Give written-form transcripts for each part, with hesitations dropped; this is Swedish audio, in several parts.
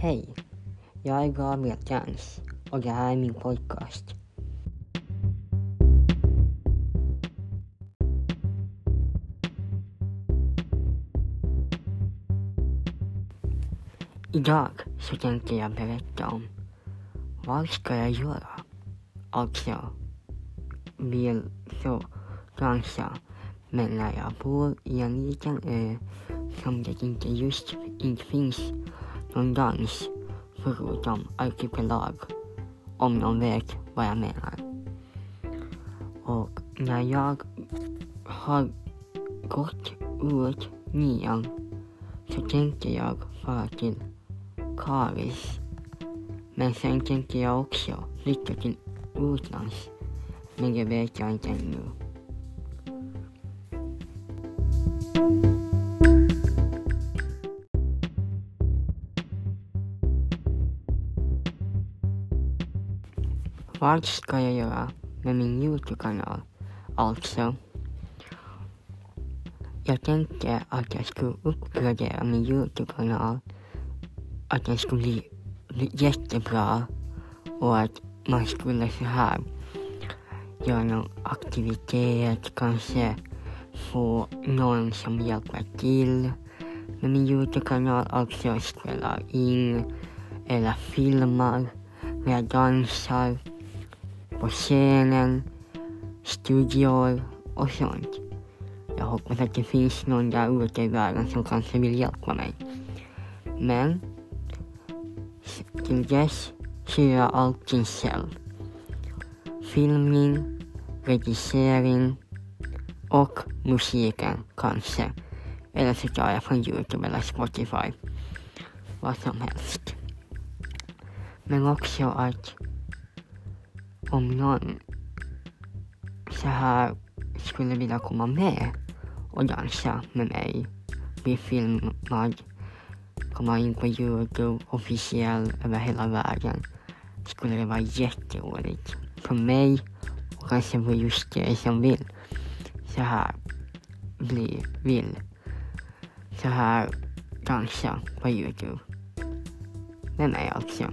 Hej, jag är Gabriel Jans och det här är min podcast. Idag så tänkte jag berätta om vad ska jag göra? Alltså, vill så dansa, men när jag bor i en liten ö som det inte finns någon dans förutom arkipelag, om någon vet vad jag menar. Och när jag har gått ut 9 så tänkte jag fara till Karis. Men sen tänkte jag också flytta till utlands. Men det vet jag inte ännu. Vad ska jag göra med min YouTube-kanal? Alltså, jag tänkte att jag skulle uppgradera min YouTube-kanal. Att den skulle bli jättebra. Och att man skulle så här göra någon aktivitet. Kanske få någon som hjälper till med min YouTube-kanal. Alltså spela in eller filmar när jag dansar på scenen, studior och sånt. Jag hoppas att det finns någon där ute i världen som kanske vill hjälpa mig. Men till dess så gör jag allting själv. Filmning, redigering och musiken kanske. Eller så tar jag från YouTube eller Spotify. Vad som helst. Men också att om någon så här skulle vilja komma med och dansa med mig, bli filmad, komma in på YouTube officiell över hela världen, skulle det vara jätteroligt för mig och kanske för just dig som vill så här vill så här dansa på YouTube med mig alltså.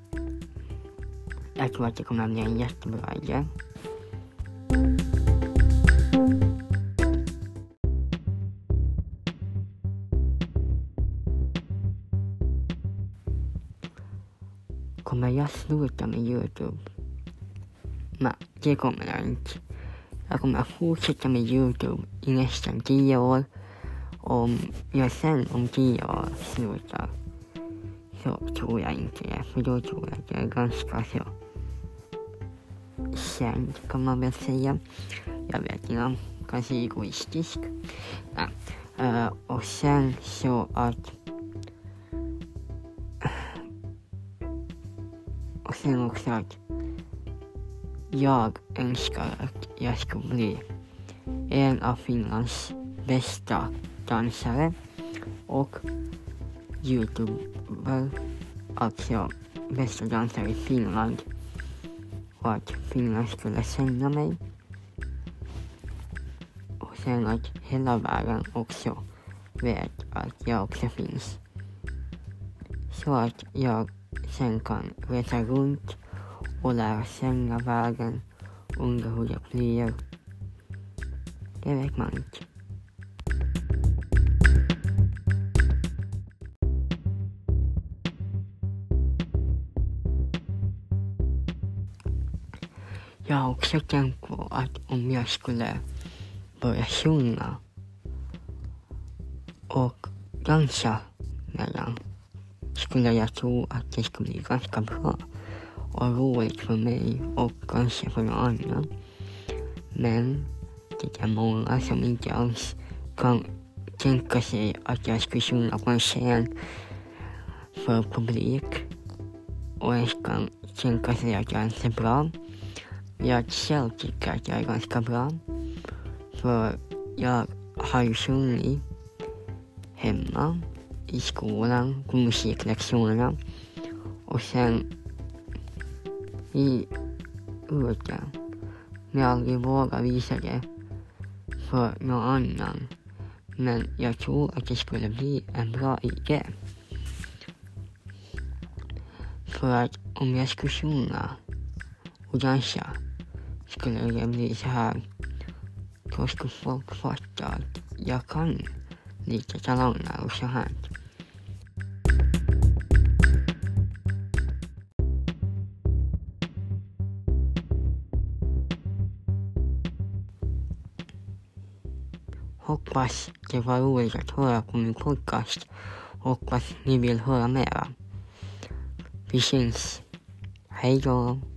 Jag tror att det kommer att bli en jättebra idé. Kommer jag sluta med YouTube? Nej, det kommer jag inte. Jag kommer att fortsätta med YouTube i nästan 10 år. Om jag sen om 10 år slutar så tror jag inte det. För då tror jag att jag är ganska så känd, kan man väl säga. Jag vet inte, kanske egoistisk. Och sen så att och sen också att jag önskar att jag ska bli en av Finlands bästa dansare och YouTuber, alltså bästa dansare i Finland, och att Finland skulle sända mig och sen att hela världen också vet att jag också finns, så att jag sen kan resa runt och lära känna världen, undra hur det blir. Det vet man inte. Jag har också tänkt på att om jag skulle börja sjunga och dansa mellan, skulle jag tro att det skulle bli ganska bra och roligt för mig och kanske för någon annan. Men det är många som inte alls kan tänka sig att jag skulle sjunga på en scen för publik och jag kan tänka sig att jag inte är bra. Jag själv tycker att jag är ganska bra, för jag har ju sjungit hemma, i skolan, på musiklektionerna och sen ute. Men jag aldrig vågar visa det för någon annan. Men jag tror att det skulle bli en bra idé. För att om jag skulle sjunga och dansa skulle det bli så här. Då skulle folk fatta att jag kan lite talanger och så här. Hoppas det var roligt att höra på min podcast. Hoppas ni vill höra mera. Vi syns. Hej då!